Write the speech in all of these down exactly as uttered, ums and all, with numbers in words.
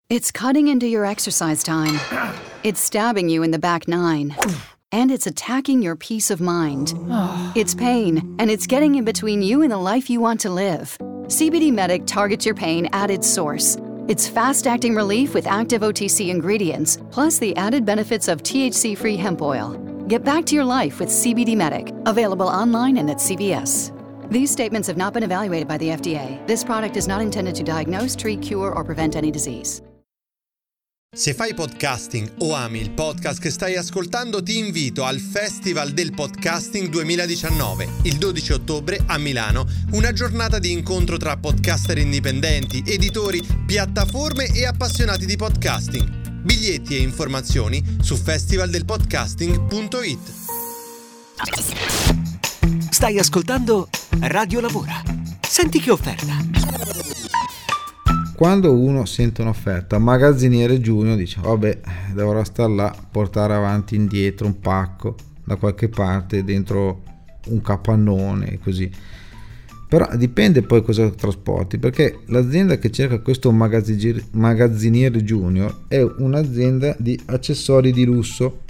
It's cutting into your exercise time. It's stabbing you in the back nine. And it's attacking your peace of mind. It's pain, and it's getting in between you and the life you want to live. C B D Medic targets your pain at its source. It's fast-acting relief with active O T C ingredients, plus the added benefits of T H C-free hemp oil. Get back to your life with C B D Medic, available online and at C V S. These statements have not been evaluated by the F D A. This product is not intended to diagnose, treat, cure, or prevent any disease. Se fai podcasting o ami il podcast che stai ascoltando, ti invito al Festival del Podcasting duemiladiciannove, il dodici ottobre a Milano, una giornata di incontro tra podcaster indipendenti, editori, piattaforme e appassionati di podcasting. Biglietti e informazioni su festivaldelpodcasting punto it. Stai ascoltando Radio Lavora. Senti che offerta. Quando uno sente un'offerta magazziniere junior dice vabbè, dovrò star là, portare avanti e indietro un pacco da qualche parte dentro un capannone, così. Però dipende poi cosa trasporti, perché l'azienda che cerca questo magazziniere junior è un'azienda di accessori di lusso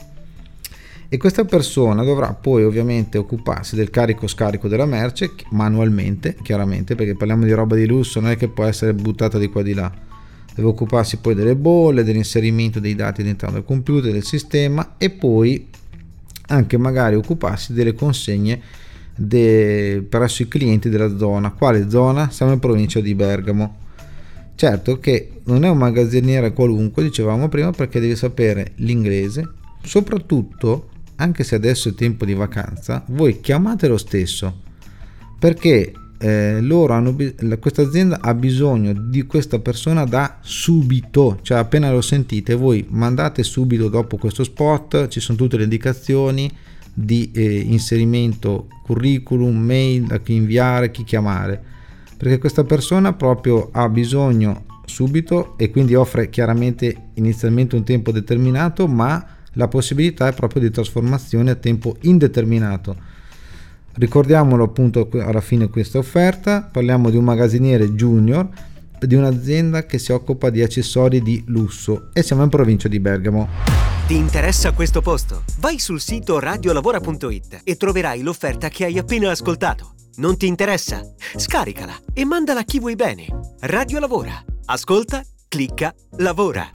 e questa persona dovrà poi ovviamente occuparsi del carico scarico della merce manualmente, chiaramente, perché parliamo di roba di lusso, non è che può essere buttata di qua di là. Deve occuparsi poi delle bolle, dell'inserimento dei dati all'interno del computer, del sistema, e poi anche magari occuparsi delle consegne de... presso i clienti della zona. Quale zona? Siamo in provincia di Bergamo. Certo che non è un magazziniere qualunque, dicevamo prima, perché devi sapere l'inglese, soprattutto anche se adesso è tempo di vacanza, voi chiamate lo stesso, perché eh, loro hanno questa azienda ha bisogno di questa persona da subito, cioè appena lo sentite voi mandate subito dopo questo spot, ci sono tutte le indicazioni di eh, inserimento, curriculum, mail, a chi inviare, a chi chiamare, perché questa persona proprio ha bisogno subito e quindi offre chiaramente inizialmente un tempo determinato, ma la possibilità è proprio di trasformazione a tempo indeterminato. Ricordiamolo appunto alla fine questa offerta, parliamo di un magazziniere junior di un'azienda che si occupa di accessori di lusso e siamo in provincia di Bergamo. Ti interessa questo posto? Vai sul sito radiolavora punto it e troverai l'offerta che hai appena ascoltato. Non ti interessa? Scaricala e mandala a chi vuoi bene. Radio Lavora. Ascolta, clicca, lavora.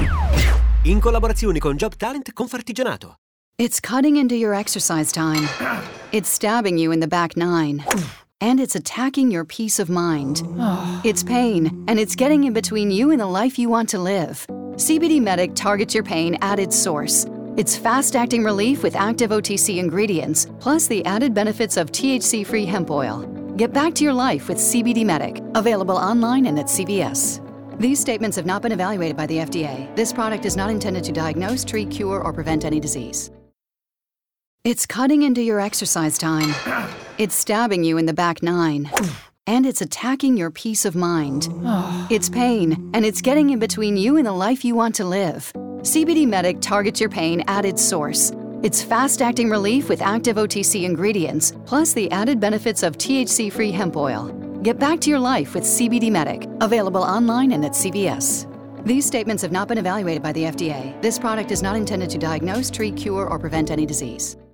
In collaborazione con Job Talent Confartigianato. It's cutting into your exercise time. It's stabbing you in the back nine. And it's attacking your peace of mind. It's pain, and it's getting in between you and the life you want to live. C B D Medic targets your pain at its source. It's fast-acting relief with active O T C ingredients, plus the added benefits of T H C-free hemp oil. Get back to your life with C B D Medic, available online and at C V S. These statements have not been evaluated by the F D A. This product is not intended to diagnose, treat, cure, or prevent any disease. It's cutting into your exercise time. It's stabbing you in the back nine. And it's attacking your peace of mind. It's pain, and it's getting in between you and the life you want to live. C B D Medic targets your pain at its source. It's fast-acting relief with active O T C ingredients, plus the added benefits of T H C-free hemp oil. Get back to your life with C B D Medic, available online and at C V S. These statements have not been evaluated by the F D A. This product is not intended to diagnose, treat, cure, or prevent any disease.